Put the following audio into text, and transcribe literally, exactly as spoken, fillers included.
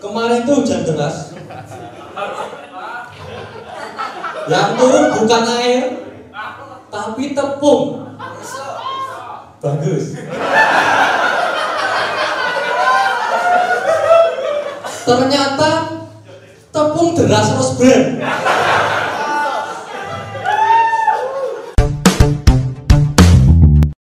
Kemarin tuh hujan deras. Yang turun bukan air, tapi tepung. Bagus. Ternyata tepung deras terus brand.